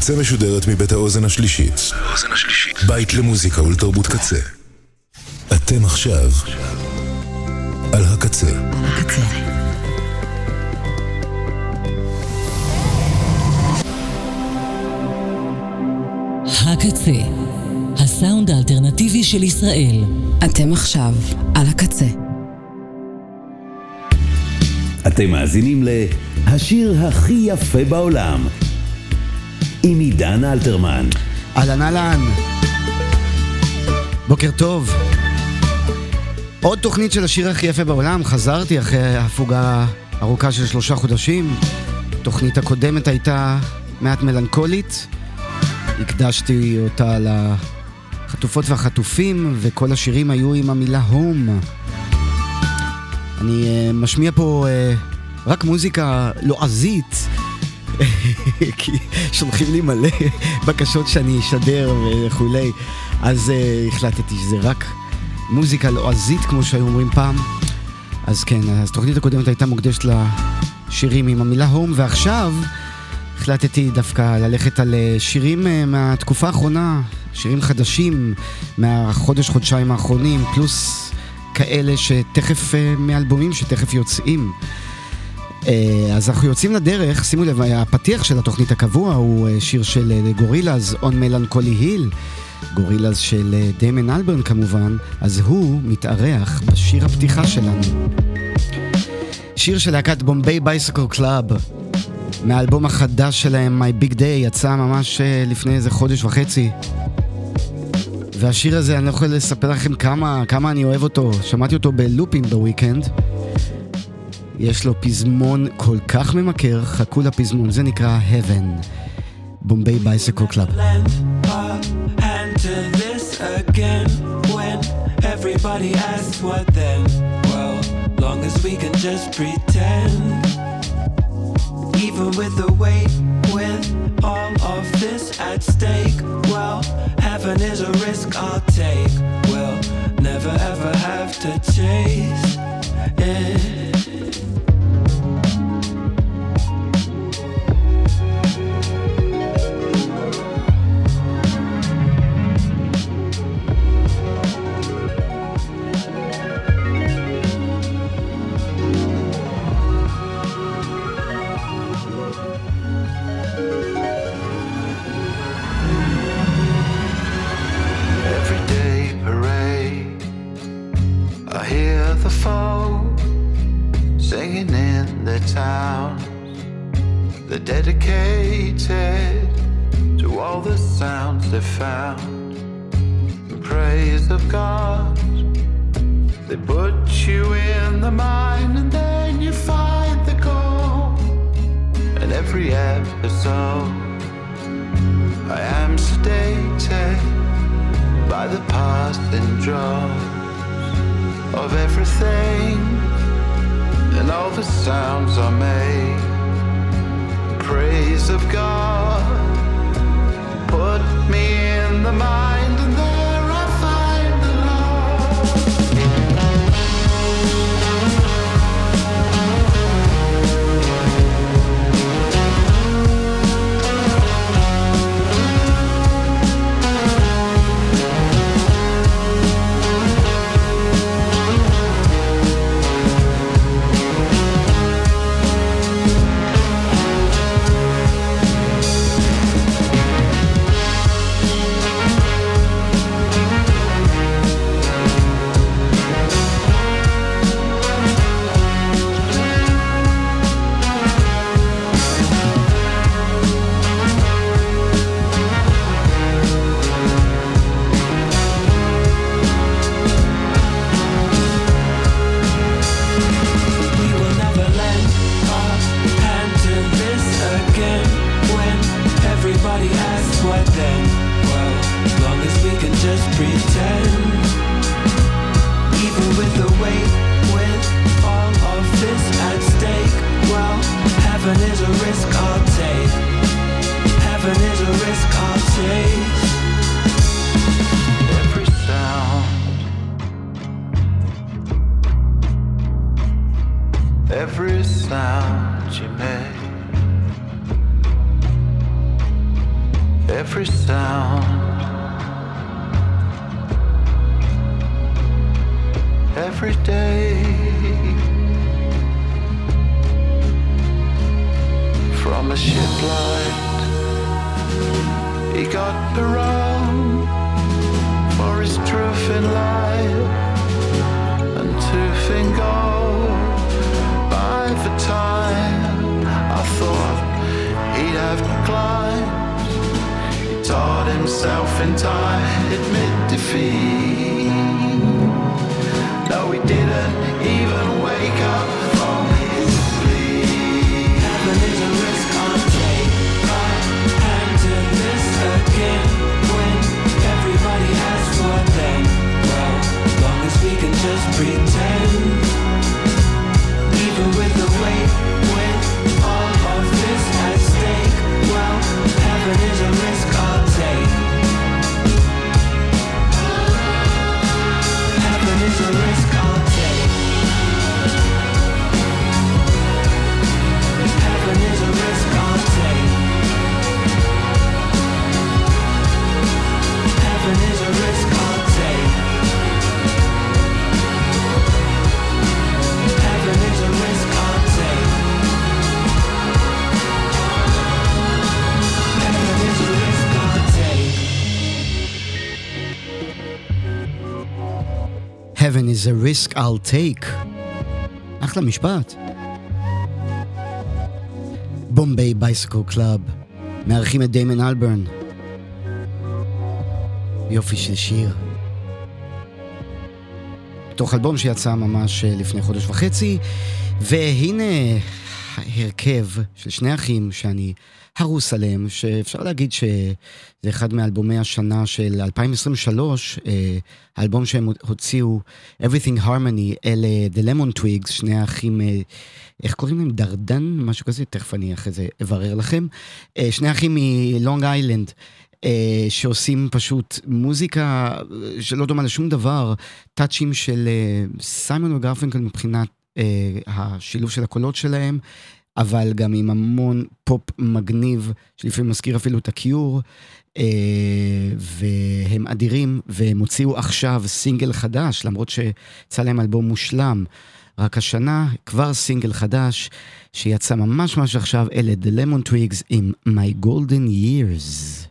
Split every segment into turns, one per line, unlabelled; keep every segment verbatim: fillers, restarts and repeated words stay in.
הקצה משודרת מבית האוזן השלישית. בית למוזיקה ולתרבות קצה. אתם עכשיו על הקצה. הקצה.
הקצה, הסאונד האלטרנטיבי של ישראל.
אתם עכשיו על הקצה.
אתם מאזינים להשיר הכי יפה בעולם עם עידן אלתרמן.
אהלן אהלן, בוקר טוב. עוד תוכנית של השיר הכי יפה בעולם. חזרתי אחרי הפוגה ארוכה של שלושה חודשים. תוכנית הקודמת הייתה מעט מלנכולית, הקדשתי אותה לחטופות והחטופים, וכל השירים היו עם המילה הום. אני uh, משמיע פה uh, רק מוזיקה לועזית, כי שולחים לי מלא בקשות שאני אשדר וכולי, אז uh, החלטתי שזה רק מוזיקה לועזית כמו שהיו אומרים פעם. אז כן, אז תוכנית הקודמת הייתה מוקדשת לשירים עם המילה הום, ועכשיו החלטתי דווקא ללכת על שירים מהתקופה האחרונה, שירים חדשים מהחודש חודשיים האחרונים, פלוס כאלה שתכף, מאלבומים שתכף יוצאים. אז אנחנו יוצאים לדרך. שימו לב, הפתיח של התוכנית הקבוע הוא שיר של גורילאז, On Melancholy Hill, גורילאז של דיימון אלברן כמובן, אז הוא מתארח בשיר הפתיחה שלנו. שיר של להקת בומביי בייסיקל קלאב, מהאלבום החדש שלהם, My Big Day, יצא ממש לפני איזה חודש וחצי. והשיר הזה, אני לא יכול לספר לכם כמה, כמה אני אוהב אותו. שמעתי אותו בלופים בוויקנד. יש לו פזמון כל כך ממכר, חכו לפזמון, זה נקרא Heaven, בומביי בייסיקל קלאב.
Everybody asks what then? Well, long as we can just pretend. Even with the weight, with all of this at stake, well, heaven is a risk I'll take. We'll never ever have to chase it.
Dedicated to all the sounds they found in praise of God. They put you in the mind and then you find the goal. And every episode I am sedated by the passing drops of everything, and all the sounds are made praise of God. Put me in the mind and there I find the Lord. Every sound you make every sound, every day. From a ship light, he got around for his truth in life and tooth in gold. By the time I thought he'd have climbed, he taught himself in time, admit defeat. No, he didn't even wake up from his sleep.
Heaven is a risk I'll take. My hand to this again. When everybody asks what then, well, long as we can just pretend. Even with the weight, with all of this at stake, well, heaven is a risk I'll take. Heaven is a risk I'll take. Heaven is a risk I'll take. Heaven is a risk I'll take. Heaven is a risk I'll take. Heaven is a risk I'll take.
Heaven is a risk I'll take. אחלה משפט. בומביי בייסקל קלאב, מארחים את דיימון אלברן. יופי של שיר. תוך אלבום שיצא ממש לפני חודש וחצי, והנה הרכב של שני אחים שאני הרוס עליהם, שאפשר להגיד שזה אחד מאלבומי השנה של אלפיים עשרים ושלוש, האלבום שהם הוציאו, Everything Harmony, אלה The Lemon Twigs, שני האחים, איך קוראים להם? דרדן? משהו כזה, תכף אני אחרי זה אברר לכם. שני אחים מלונג איילנד, שעושים פשוט מוזיקה שלא דומה לשום דבר, טאצ'ים של סיימון וגרפינקל מבחינת השילוב של הקולות שלהם, אבל גם עם המון פופ מגניב, שלפעמים מזכיר אפילו את הקיור, והם אדירים, והם הוציאו עכשיו סינגל חדש, למרות שיצא להם אלבום מושלם, רק השנה כבר סינגל חדש, שיצא ממש ממש עכשיו, אלה The Lemon Twigs עם My Golden Years.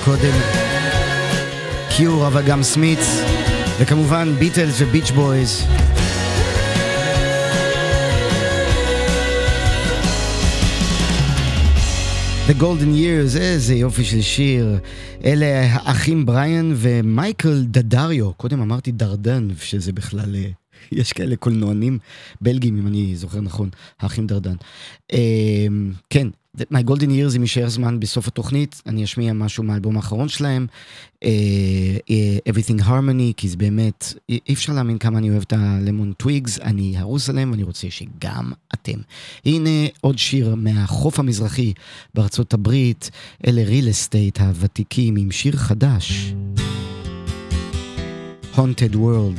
קודם קיור, אבל גם סמית', וכמובן ביטלס וביץ' בויז. The Golden Years, איזה יופי של שיר. אלה האחים בריאן ומייקל דדריו. קודם אמרתי דרדן, שזה בכלל, יש כאלה קולנוענים בלגים, אם אני זוכר נכון, האחים דרדן. כן, My Golden Years, אם יישאר זמן בסוף התוכנית, אני אשמיע משהו מהאלבום האחרון שלהם, Everything Harmony, כי זה באמת, אי אפשר להאמין כמה אני אוהב את הלמון טוויגס, אני הרוס עליהם ואני רוצה שגם אתם. הנה עוד שיר מהחוף המזרחי בארצות הברית, אלה Real Estate הוותיקים עם שיר חדש, Haunted World.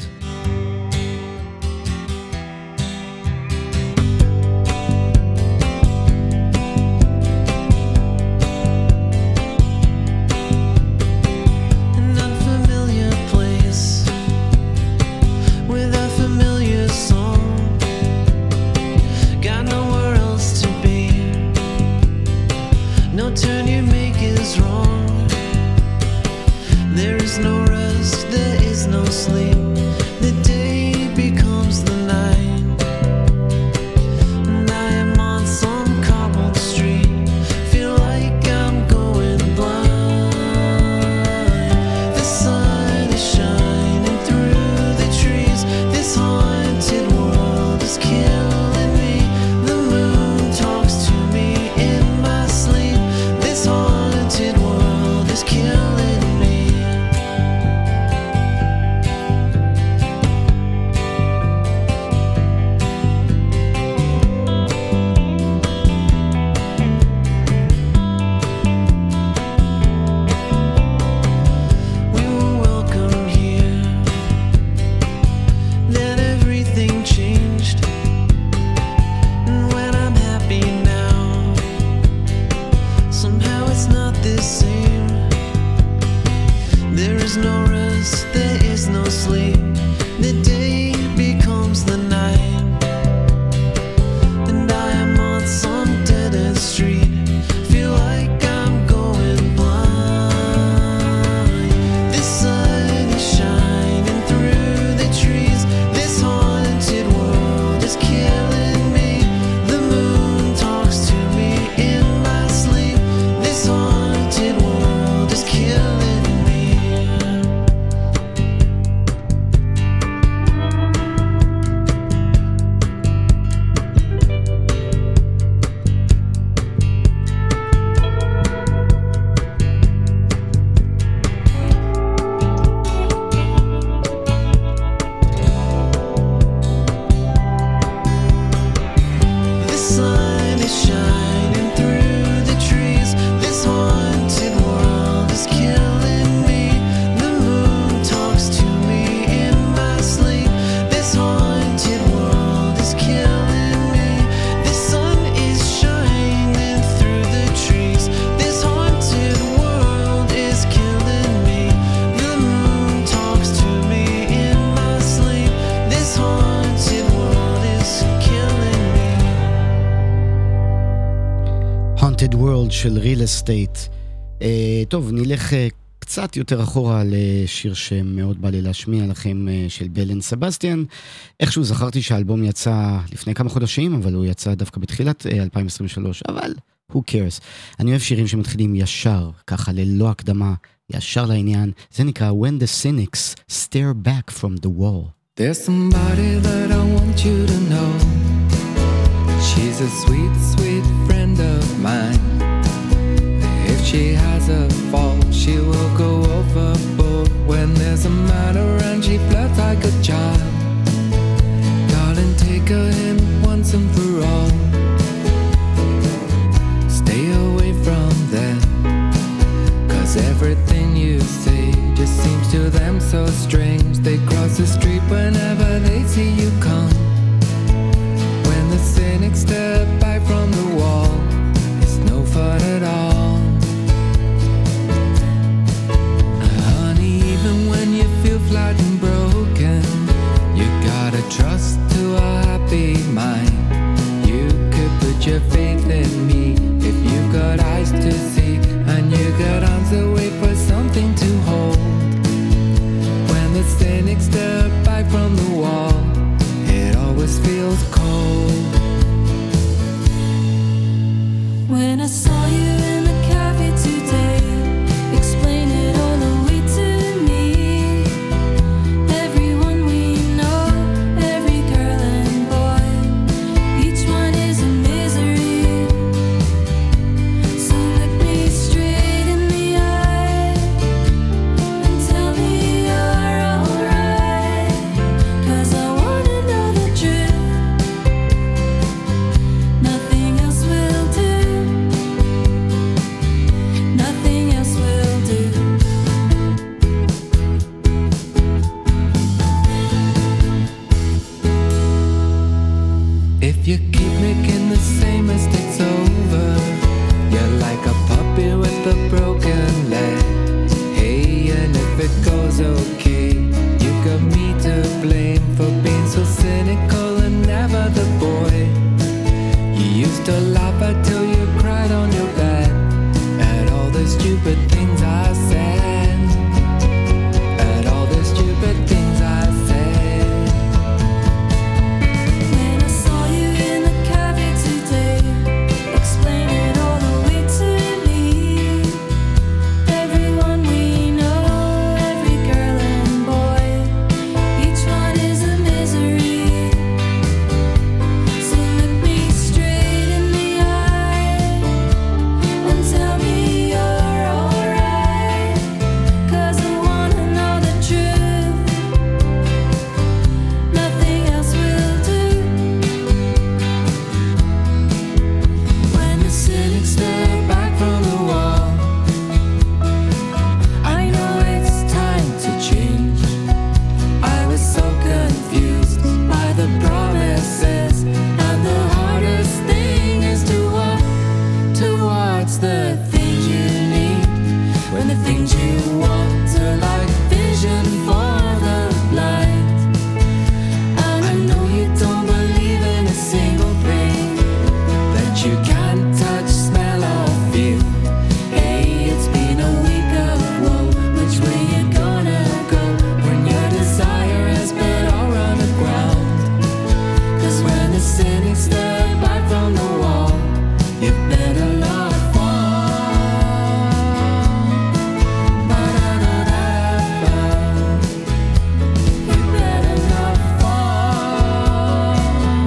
של Real Estate. Uh, טוב, נלך uh, קצת יותר אחורה לשיר שמאוד בא לי להשמיע לכם, uh, של בלן סבסטיאן. איכשהו זכרתי שהאלבום יצא לפני כמה חודשים, אבל הוא יצא דווקא בתחילת uh, אלפיים עשרים ושלוש, אבל who cares. אני אוהב שירים שמתחילים ישר, ככה ללא הקדמה, ישר לעניין. זה נקרא When the Cynics Stare Back from the Wall.
There's somebody that I want you to know. She's a sweet, sweet friend of mine. If she has a fault, she will go overboard. When there's a man around, she flirts like a child. Darling, take her in once and for all. Stay away from them, 'cause everything you say just seems to them so strange. They cross the street whenever they see you come. When the cynics step back from the wall, it's no fun at all. Honey, even when you feel flat and broken, you gotta trust to a happy mind. You could put your faith in me if you've got eyes to see, and you got arms to wait for you keep making the same mistakes over. You're like a puppy with a broken leg. Hey, and if it goes okay, you got me to blame for being so cynical and never the boy. You used to laugh until you cried on your bed at all the stupid things I said. At all the stupid things I said.
When I saw you in the cafe today, explain it all the way to me. Everyone we know, every girl and boy, each one is a misery. So look me straight in the eye and tell me you're alright, 'cause I wanna know the truth. Nothing else will do. When the cynics step back from the wall, I know it's time to change. I was so confused by the promises, and the hardest thing is to walk towards the things you need, when the things you want are like vision for the blind. And I know you don't believe in a single thing that you can't touch, smell or feel. Hey, it's been a week of woe. Which way you gonna go when your desire has been all run aground? 'Cause when the cynics step back from the wall, you better not fall. Ba-da-da-da-da. You better not fall.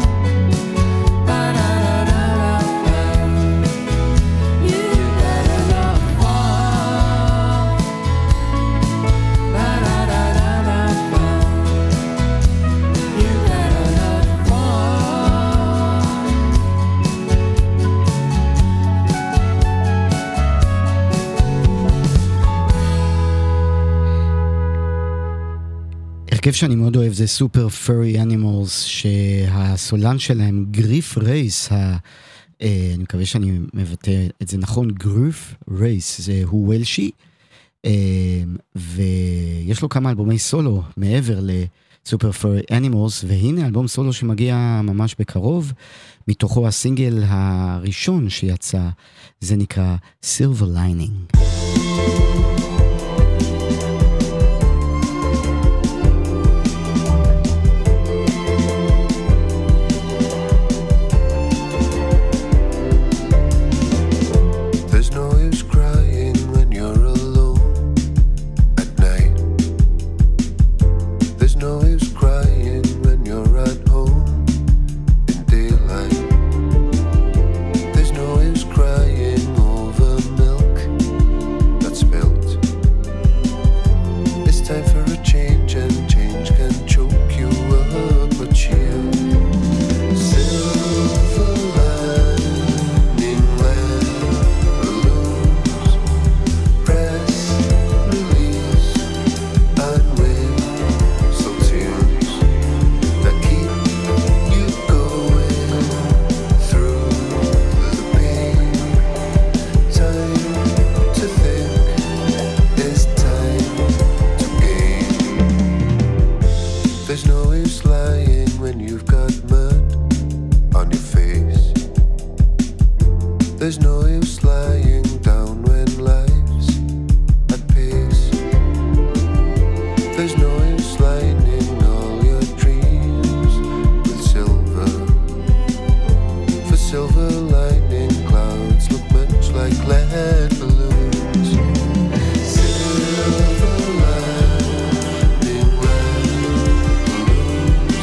Ba-da-da-da-da. You better not fall. Ba-da-da-da-da. You better not fall.
הרכב שאני מאוד אוהב זה סופר פרי אנימלס, שהסולן שלהם גריף רייס, ה... אה, אני מקווה שאני מבטא את זה נכון, גריף רייס, זה הוא וולשי, אה, ויש לו כמה אלבומי סולו מעבר לסופר פרי אנימלס, והנה אלבום סולו שמגיע ממש בקרוב, מתוכו הסינגל הראשון שיצא, זה נקרא Silver Lining.
There's no use crying when you're alone at night. There's no use crying when you're at home in daylight. There's no use crying over milk that's spilt. It's time for a change, and change can choke you up, but cheer. Silver lining when balloons press, release, and whistle tunes that keep you going through the pain. Time to think is time to gain. There's no use lying when you've got mud on your face. There's no use lying down when life's at pace. There's no use lining all your dreams with silver. For silver lining clouds look much like lead balloons. Silver lining when balloons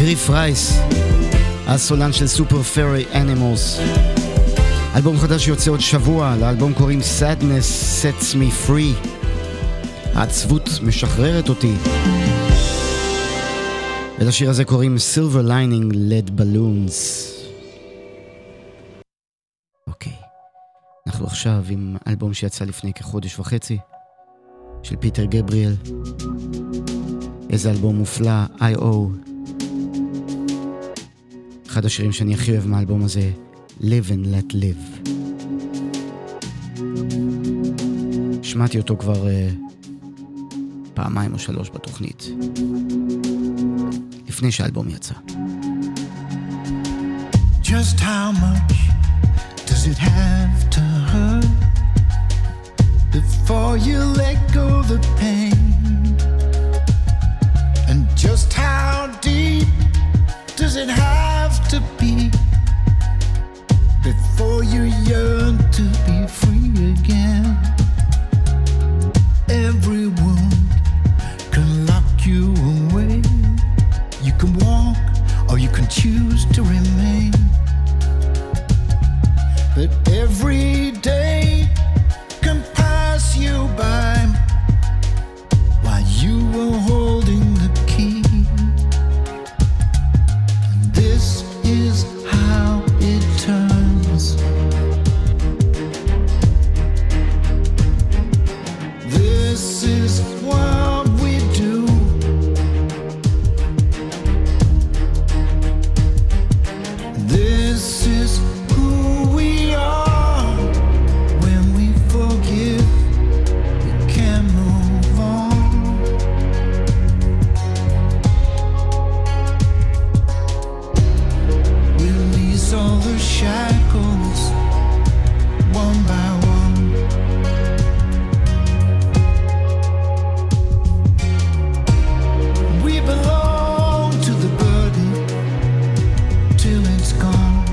גריף רייס, הסולן של סופר פרי אנימלס. אלבום חדש יוצא עוד שבוע, לאלבום קוראים Sadness Sets Me Free. העצבות משחררת אותי. ולשיר הזה קוראים Silver Lining Lead Balloons. אוקיי, אנחנו עכשיו עם אלבום שיצא לפני כחודש וחצי של פיטר גבריאל. איזה אלבום מופלא, איי או. אחד השירים שאני הכי אוהב מהאלבום הזה, Live and Let Live. שמעתי אותו כבר uh, פעמיים או שלוש בתוכנית, לפני שהאלבום יצא.
Just how much does it have to hurt before you let go the pain? And just how deep does it have to be before you yearn to be free again? Every wound can lock you away. You can walk or you can choose to remain. But every day can pass you by while you were holding the key. And this is how it turns. This is what we do. This is who we are. When we forgive, we can move on. Release all the shackles, one by one. We belong to the burden till it's gone.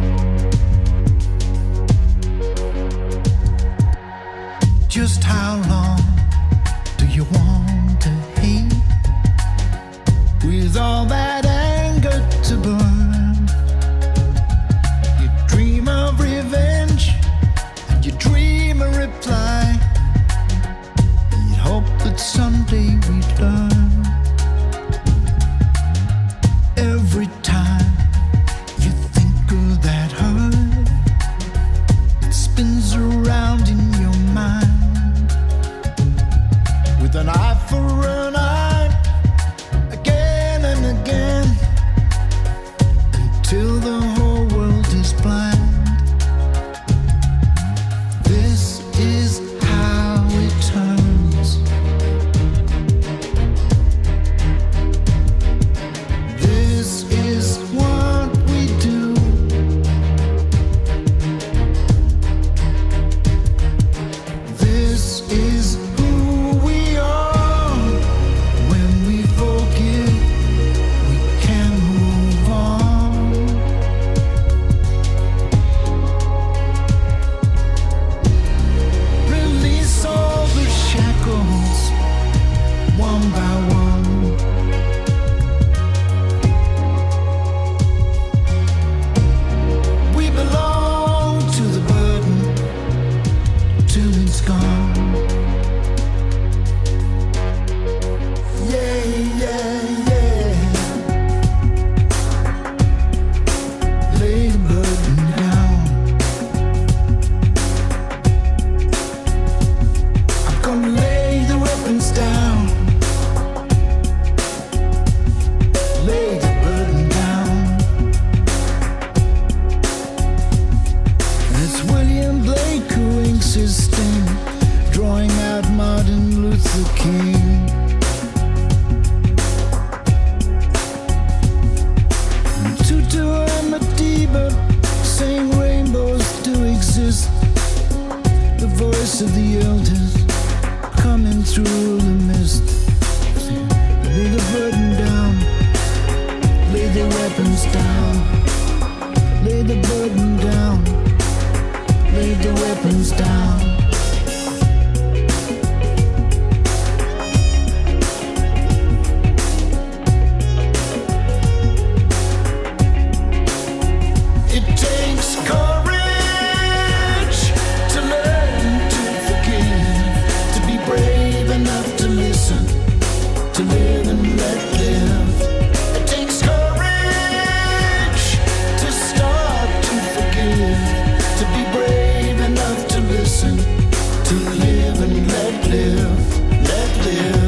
Just how long do you want to hate with all that anger to burn? You dream of revenge and you dream a reply. You hope that someday we'd learn. Every time you think of that hurt, it spins around in your mind with an eye for an eye, again and again, until the whole world is blind. This is how it turns. This is what we do. This is who we are. When we forgive, we can move on. Release all the shackles, one by one. We belong to the burden till it's gone. Yeah, yeah, yeah. Lay the burden down. I'm gonna lay the weapons down. Lay the burden down. And it's William Blake who inks his sting, drawing out Martin Luther King. And Tutu and Madiba saying rainbows do exist. The voice of the elders coming through the mist. Lay the burden down. Lay the weapons down. Lay the burden down. Lay the weapons down. to live and let live. It takes courage to start to forgive, to be brave enough to listen, to live and let live, let live.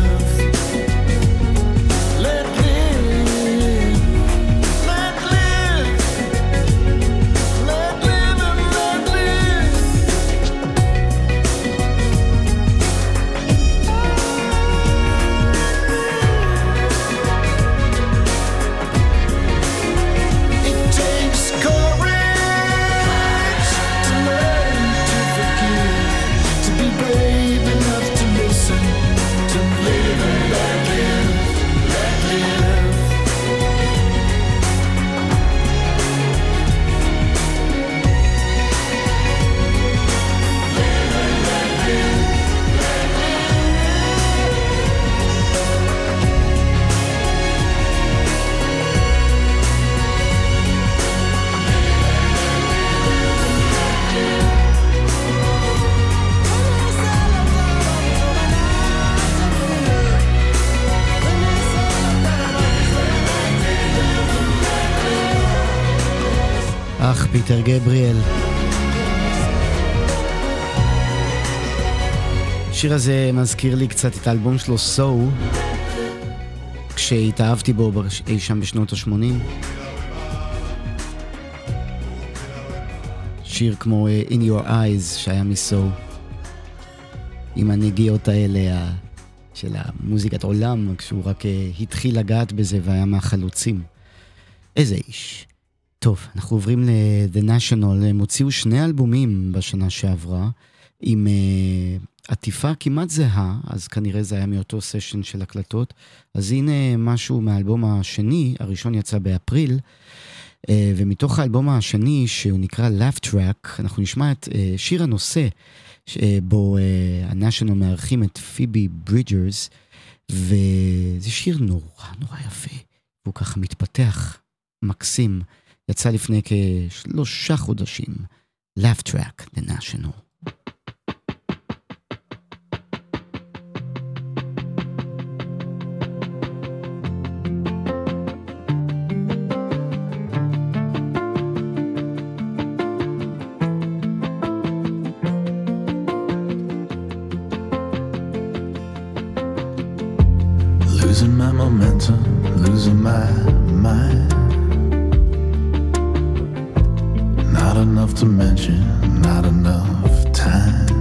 אך פיטר גבריאל. השיר הזה מזכיר לי קצת את האלבום שלו סו, כשהתאהבתי בו אי שם בשנות ה-שמונים. שיר כמו In Your Eyes שהיה מסו, עם הנגיעות האלה של המוזיקת עולם, כשהוא רק התחיל לגעת בזה והיה מהחלוצים. איזה איש. טוב, אנחנו עוברים ל-The National. הם הוציאו שני אלבומים בשנה שעברה, עם uh, עטיפה כמעט זהה, אז כנראה זה היה מאותו סשן של הקלטות. אז הנה משהו מהאלבום השני, הראשון יצא באפריל, uh, ומתוך האלבום השני, שהוא נקרא Laugh Track, אנחנו נשמע את uh, שיר הנושא, uh, בו uh, ה-National מארחים את פיבי ברידג'רס, וזה שיר נורא נורא יפה, והוא ככה מתפתח מקסים. יצא לפני כשלושה חודשים. Laugh Track, The National.
Losing my momentum, losing my mind. Not enough to mention, not enough time.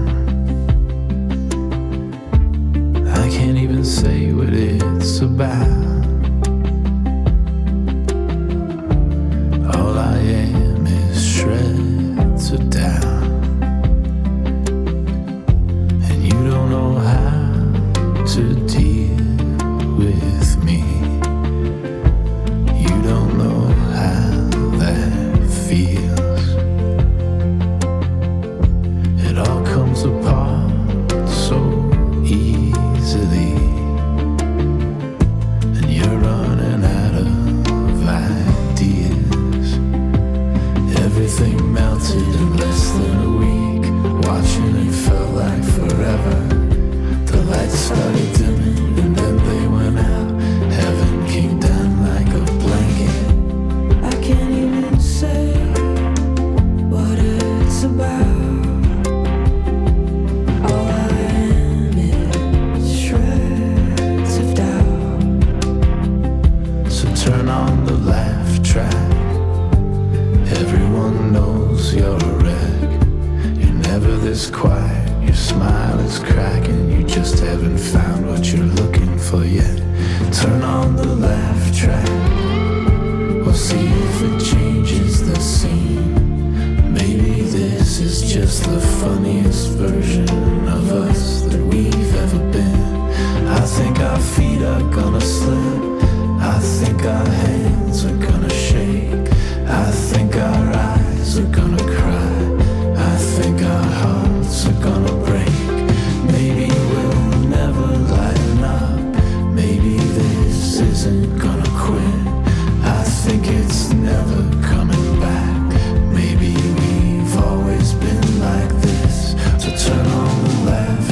I can't even say what it's about. All I am is shreds of doubt. And you don't know how to deal with me. You don't know how that feels. Apart so easily, and you're running out of ideas. Everything melted in less than a week. Watching it felt like forever. The lights started dimming and then they went out. Heaven came down like a blanket. I can't even say what it's about. Turn on the laugh track. Everyone knows you're a wreck. You're never this quiet. Your smile is cracking. You just haven't found what you're looking for yet. Turn on the laugh track. We'll see if it changes the scene. Maybe this is just the funniest version of us that we've ever been. I think our feet are gonna slip. I think our hands are gonna shake. I think our eyes are gonna cry. I think our hearts are gonna break. Maybe we'll never lighten up. Maybe this isn't gonna quit. I think it's never coming back. Maybe we've always been like this. So turn on the laugh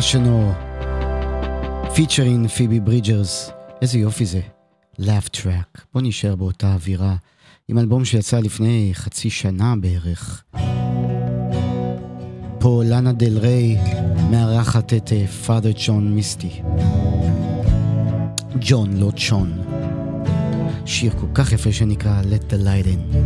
International featuring פיבי ברידג'רס. איזה יופי זה, Laugh Track. בוא נשאר באותה אווירה עם אלבום שיצא לפני חצי שנה בערך. פה לאנה דל ריי מארחת את Father John Misty. ג'ון, לא צ'ון. שיר כל כך יפה שנקרא Let the Light In.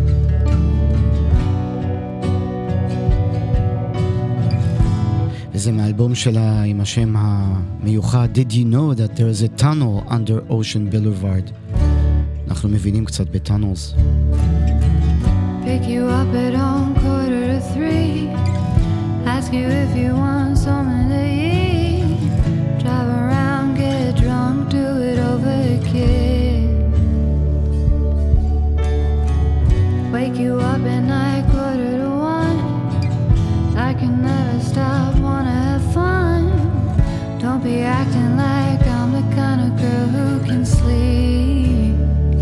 וזה מהאלבום שלה עם השם המיוחד Did you know that there is a tunnel under Ocean Boulevard? אנחנו מבינים קצת בטאנלס.
Pick you up at home quarter to three, ask you if you want something to eat, drive around, get drunk, do it over again, wake you up at night quarter to one, I can never stop, wanna have fun, don't be acting like I'm the kind of girl who can sleep,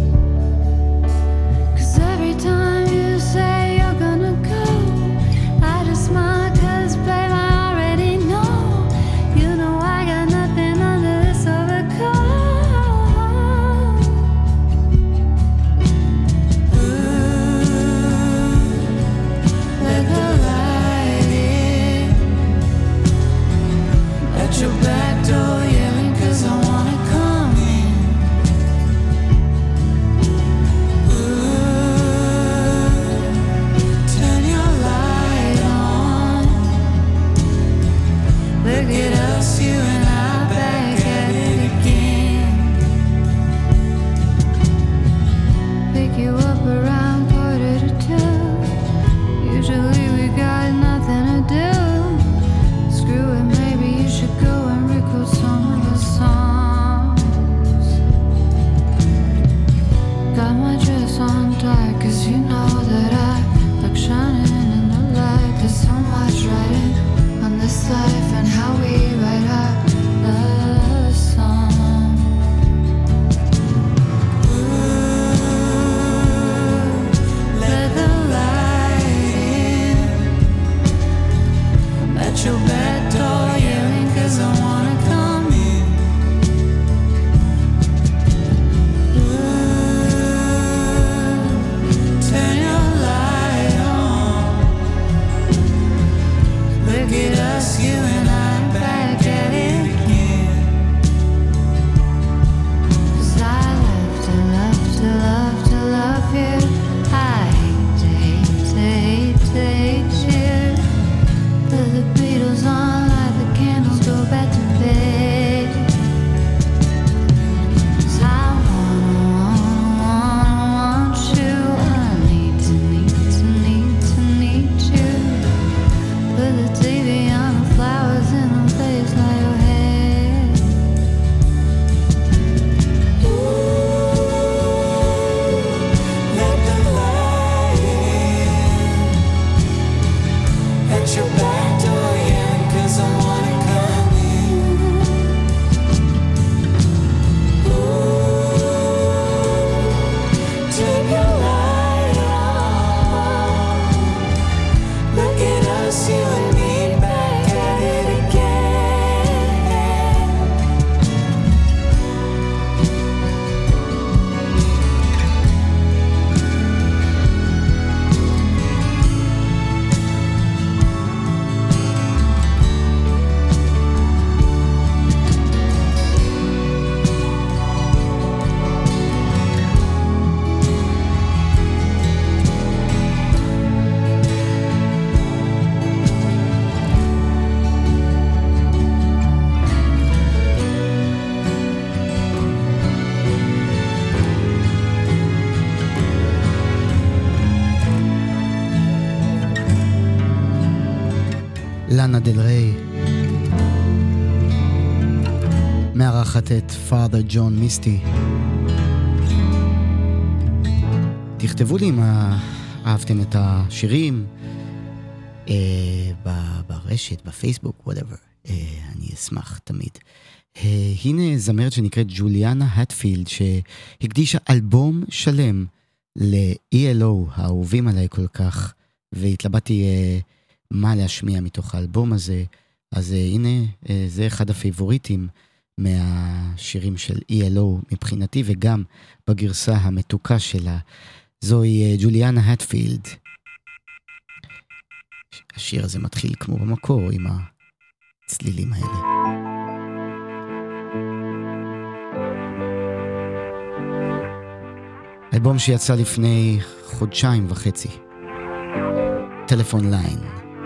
'cause every time you say you're gonna go, I just smile 'cause babe I already know, you know I got nothing under this overcoat. Ooh, let the light in, let your back door yelling 'cause I wanna come in. Ooh, turn your light on, look at us, you and I back at it again. Pick you up around quarter to two, usually we got nothing to do, screw it, maybe you should go and record some of the songs. Got my dress on dark 'cause you know that I like shining in the light. There's so much writing on this life and how we write our love song. Ooh, let the light in, let your back door yelling 'cause I wanna come in. Ooh, turn your light on, look at us, you and I back at it again. 'Cause I love to love to love to love you, I hate to hate to hate to hate you. Put the Beatles on, light the candles, go back to bed. 'Cause I wanna, wanna, wanna want you, I need to, need to, need to, need you. Put the T V on, the flowers in the place, lay your head. Ooh, let the light in, let your back door in 'cause I wanna come in. Ooh, turn your light on, look at us, you and me back at it again.
לאנה דל ריי מארחת את Father John Misty. תכתבו לי אם אהבתם את השירים אה, ברשת, בפייסבוק, whatever. אה, אני אשמח תמיד. אה, הנה זמרת שנקראת ג'וליאנה הטפילד, שהקדישה אלבום שלם ל-E L O, האהובים עליי כל כך, והתלבטתי אה, מה להשמיע מתוך האלבום הזה. אז הנה, זה אחד הפייבוריטים מהשירים של אי אל או מבחינתי, וגם בגרסה המתוקה שלה. זוהי ג'וליאנה הטפילד. השיר הזה מתחיל כמו במקור עם הצלילים האלה. אלבום שיצא לפני חודשיים וחצי. טלפון ליין.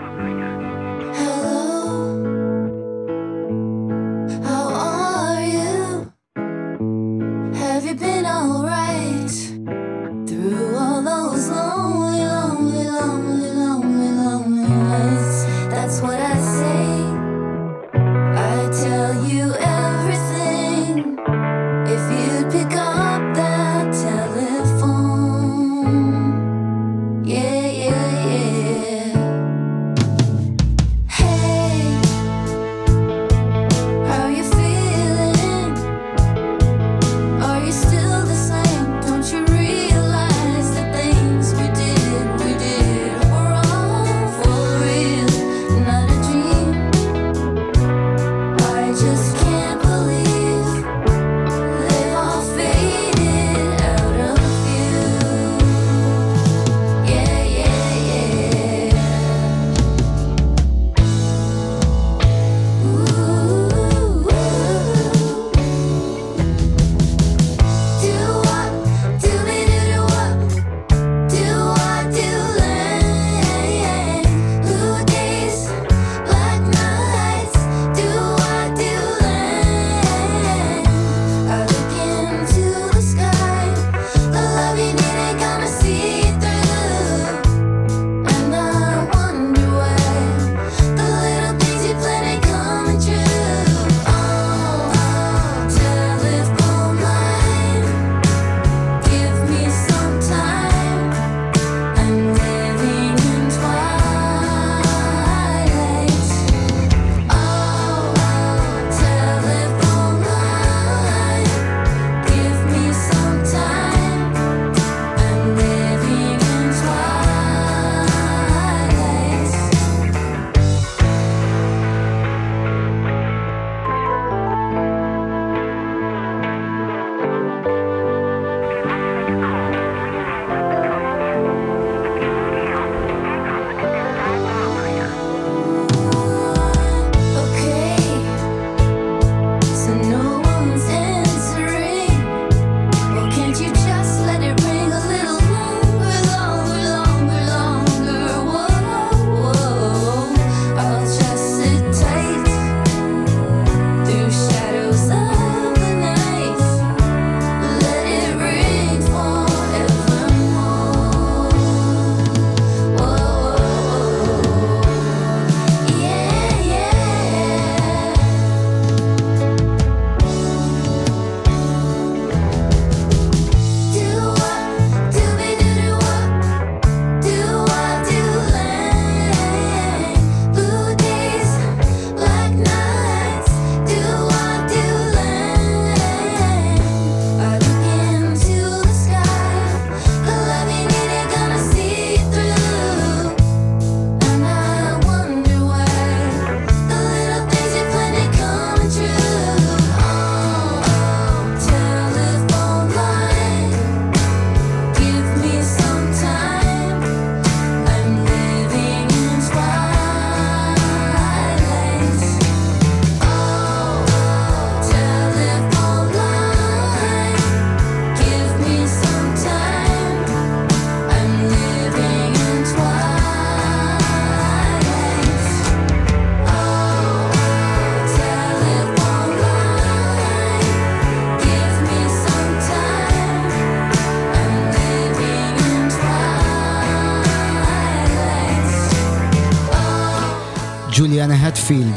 ג'וליאנה הטפילד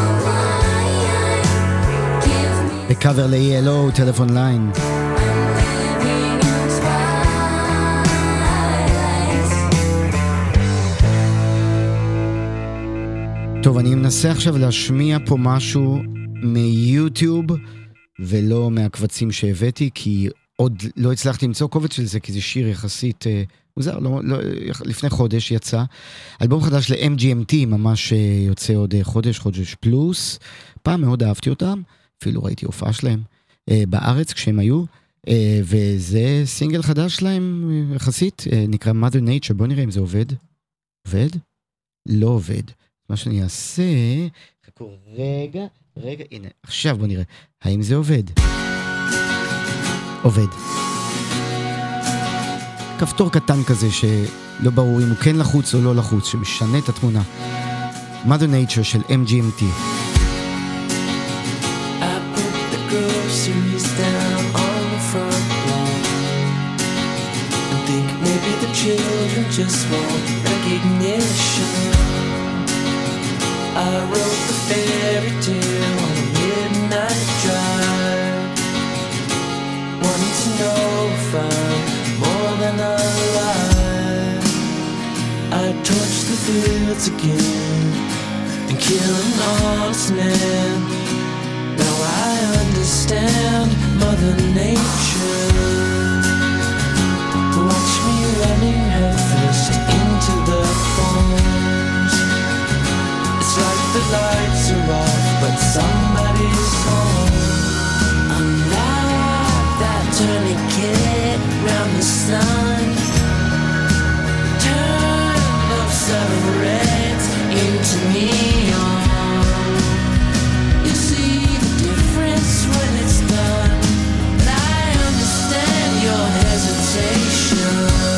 בקאבר ל-אי אל או, טלפון ליין. טוב, אני מנסה עכשיו להשמיע פה משהו מיוטיוב ולא מהקבצים שהבאתי, כי עוד לא הצלחתי למצוא קובץ של זה, כי זה שיר יחסית, מוזר, לא, לא, לפני חודש יצא. אלבום חדש ל-אם ג'י אם טי, ממש יוצא עוד חודש, חודש פלוס. פעם מאוד אהבתי אותם, אפילו ראיתי הופעה שלהם בארץ כשהם היו, וזה סינגל חדש שלהם יחסית, נקרא Mother Nature. בוא נראה אם זה עובד. עובד? לא עובד. מה שאני אעשה, חכו רגע, רגע, הנה, עכשיו בוא נראה, האם זה עובד? עובד. כפתור קטן כזה שלא ברור אם הוא כן לחוץ או לא לחוץ, שמשנה את התמונה. Mother Nature של אם ג'י אם טי.
Groceries down on the front lawn and think maybe the children just want recognition. I wrote the fairy tale on a midnight drive, wanting to know if I'm more than alive. I torched the fields again and kill an honest man. Now I understand Mother Nature. Watch me running headfirst into the thorns. It's like the lights are off, but somebody's home. I'm like that tourniquet round the sun. Turn of seven reds into neon. When it's done, but I understand your hesitation.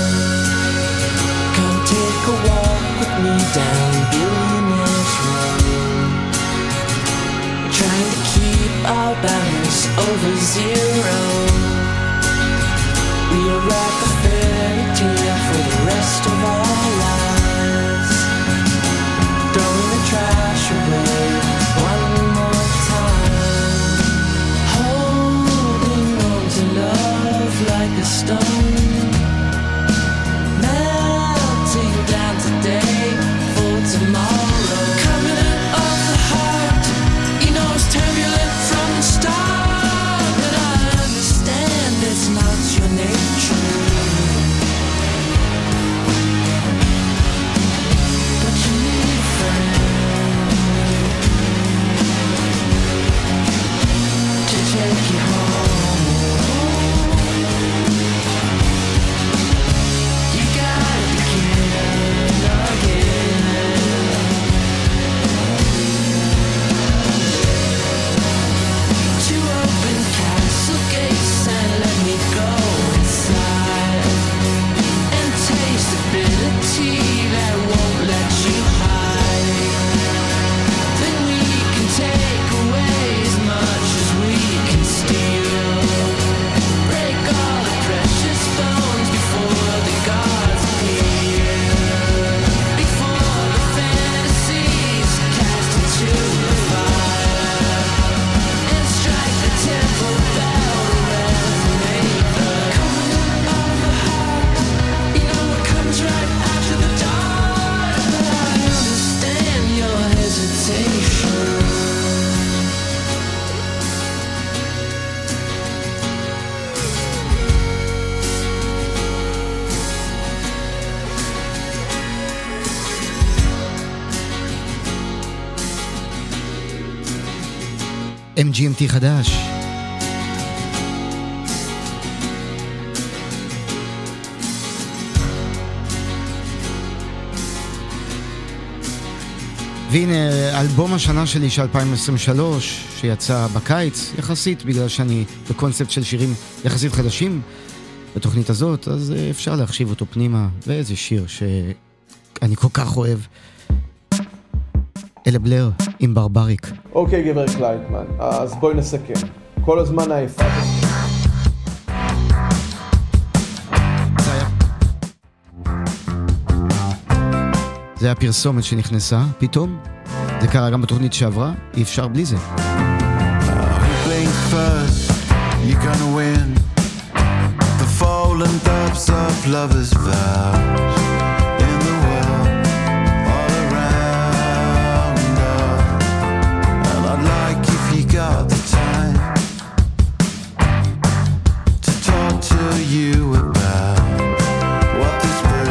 Come take a walk with me down Billionaire's Road. We're trying to keep our balance over zero. We are like a fairy tale for the rest of our lives. Throwing the trash away one more time. Holding on to love like a stone. Melting down today for tomorrow. Coming out of the heart, you know it's turbulent from the start. But I understand it's not your nature. But you need a friend to take you home. You gotta begin again. To open castle gates and let me go inside and taste the bitter tea that won't let you hide. Then we can take away as much as we can steal. Break all the precious bones before the gods appear. Before the fantasies cast into the fire and strike the temple bell to resonate the coming of the heart. You know it comes right after the dark. But I understand your hesitation.
אם ג'י אם טי חדש. והנה אלבום השנה שלי של אלפיים עשרים ושלוש שיצא בקיץ יחסית, בגלל שאני בקונספט של שירים יחסית חדשים בתוכנית הזאת, אז אפשר להחשיב אותו פנימה. ואיזה שיר שאני כל כך אוהב, אלה בלר עם ברבריק.
אוקיי גבר קלייטמן, אז בואי נסכם. כל הזמן העיפה.
זה היה פרסומת שנכנסה פתאום, זה קרה גם בתוכנית שעברה, אי אפשר בלי זה.
Blink first, you're gonna win the fallen dubs of lovers' vows in the world all around us. And I'd like if you got the time to talk to you about what this brings.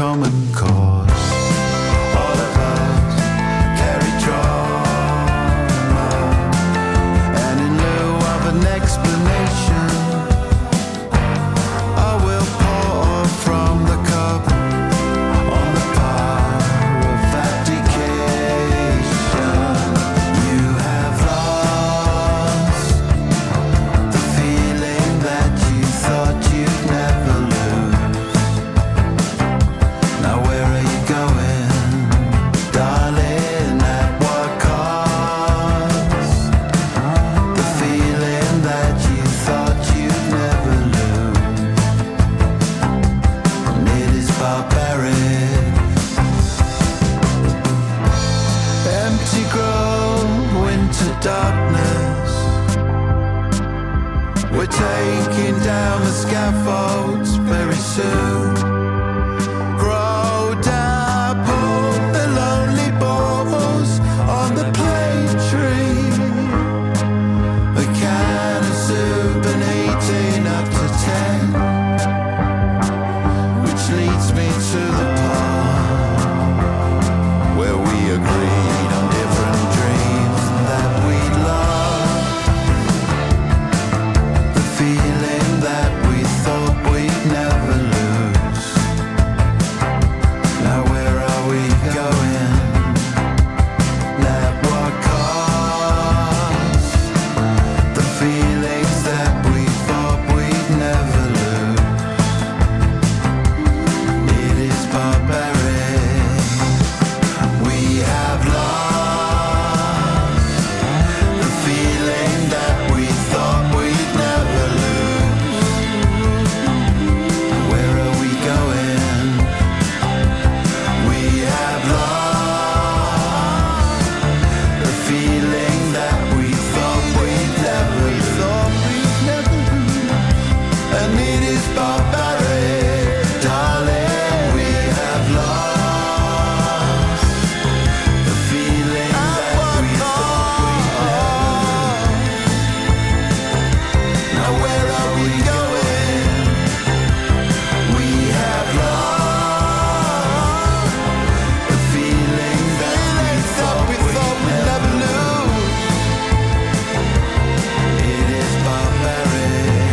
common cause. All of us carry trauma, and in lieu of an explanation, I will pour from the cup on the power of abdication. You have lost the feeling that you thought you'd never lose. Now where are you going, darling? At what cost? The feeling that you thought you'd never lose. And it is barbaric. Empty grove, winter darkness. We're taking down the scaffolds very soon. Grow dapple the lonely balls on the plane tree. A can of soup and eighteen up to ten, which leads me to the part where we agreed on different dreams that we'd love. The feeling that we thought we'd never lose. Now where are we going? At what cost? The feelings that we thought we'd never lose. It is barbaric. We have lost the feeling that we thought we'd never lose. Where are we going? We have lost the feeling that we thought we'd never lose. And it is barbaric, darling. We have lost the feeling that we thought we'd never lose. Now where are we going? We have lost the feeling that we thought we'd never lose. It is barbaric.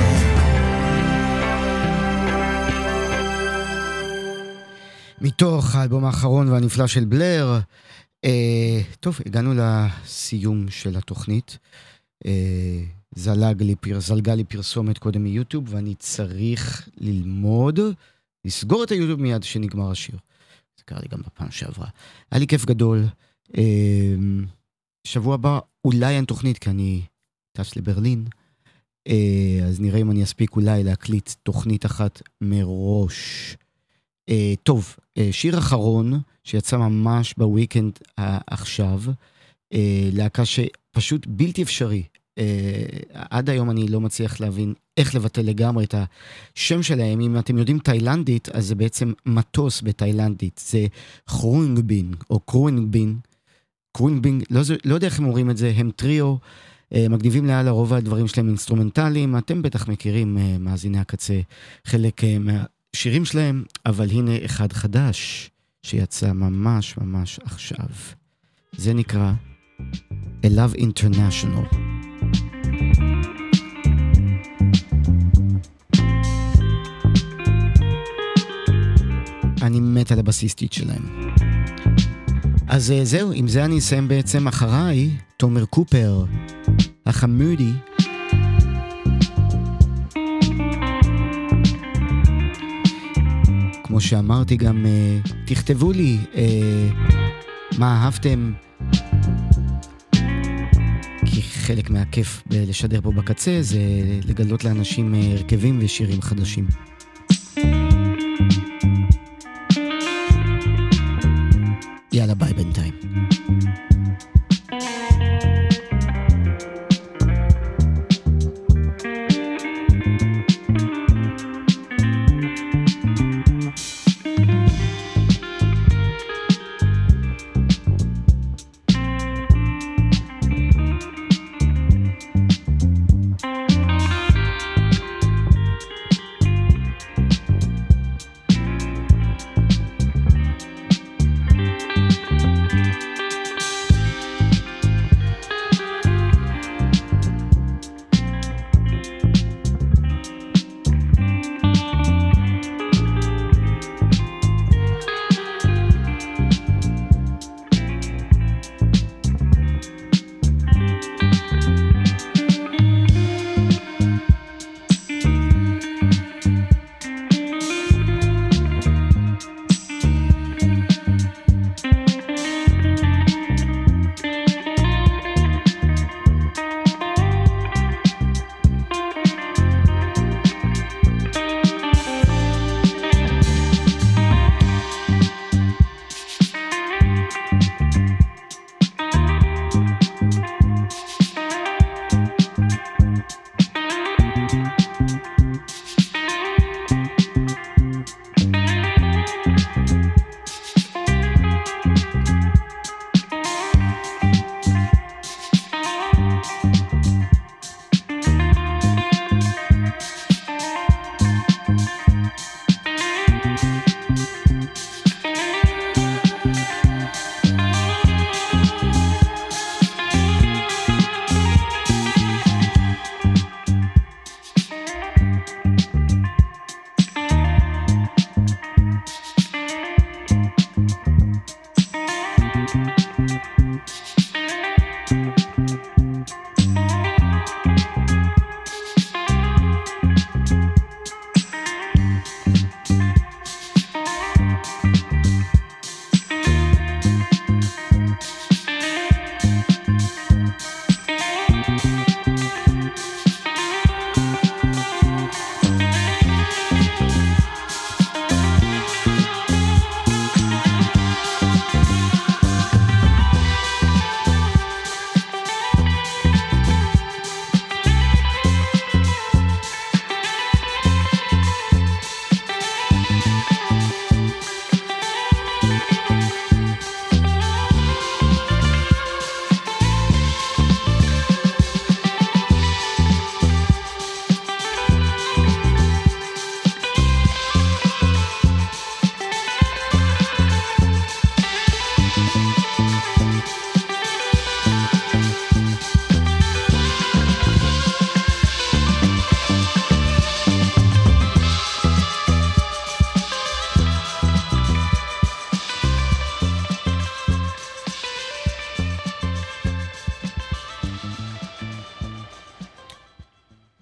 מתוך האלבום האחרון והנפלא של בלר. אה, טוב, הגענו לסיום של התוכנית. אה, זלג לי, פר, זלגה לי פרסומת קודם מיוטיוב, ואני צריך ללמוד, לסגור את היוטיוב מיד שנגמר השיר. זה קרה לי גם בפעם שעברה. היה לי כיף גדול. אה, שבוע הבא אולי אין תוכנית, כי אני טס לברלין. אה, אז נראה אם אני אספיק אולי להקליט תוכנית אחת מראש. Uh, טוב, uh, שיר אחרון שיצא ממש בוויקנד uh, עכשיו, uh, להקה שפשוט בלתי אפשרי. Uh, עד היום אני לא מצליח להבין איך לבטל לגמרי את השם שלהם. אם אתם יודעים תאילנדית, אז זה בעצם מטוס בתאילנדית. זה חרונגבין או קרונגבין. קרונגבין, לא, לא יודע איך הם אומרים את זה, הם טריו, uh, מגניבים לעל הרוב הדברים שלהם אינסטרומנטליים. אתם בטח מכירים, uh, מאזיני הקצה, חלק uh, מה... שירים שלהם, אבל הנה אחד חדש שיצא ממש ממש עכשיו. זה נקרא A Love International. אני מת על הבסיסטית שלהם. אז זהו, עם זה אני אסיים בעצם. אחריי תומר קופר, החמודי. כמו שאמרתי גם, uh, תכתבו לי uh, מה אהבתם, כי חלק מהכיף לשדר פה בקצה זה לגלות לאנשים uh, הרכבים ושירים חדשים. יאללה, ביי בינתיים.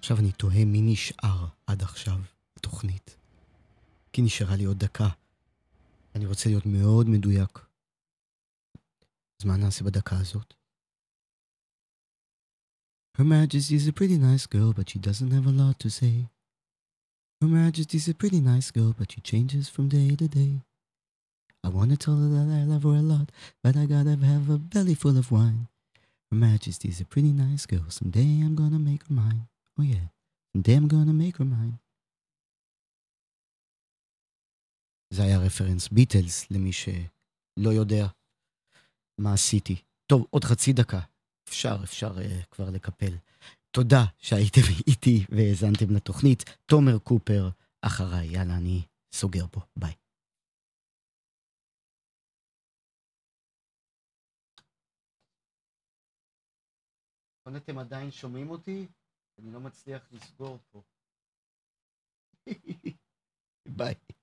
עכשיו אני תוהה מי נשאר עד עכשיו בתוכנית. כי נשארה לי עוד דקה. אני רוצה להיות מאוד מדויק. אז מה נעשה בדקה הזאת? Her Majesty is a pretty nice girl, but she doesn't have a lot to say. Her Majesty is a pretty nice girl, but she changes from day to day. I want to tell her that I love her a lot, but I gotta have a belly full of wine. Her Majesty is a pretty nice girl, someday I'm gonna make her mine. Oh yeah, someday I'm gonna make her mine. זה היה רפרנס ביטלס, למי שלא יודע מה עשיתי. טוב, עוד חצי דקה. אפשר, אפשר uh, כבר לקפל. תודה שהייתם איתי והאזנתם לתוכנית. תומר קופר אחריי. יאללה, אני סוגר פה. ביי. אתם עדיין שומעים אותי? אני לא מצליח לסגור פה. ביי.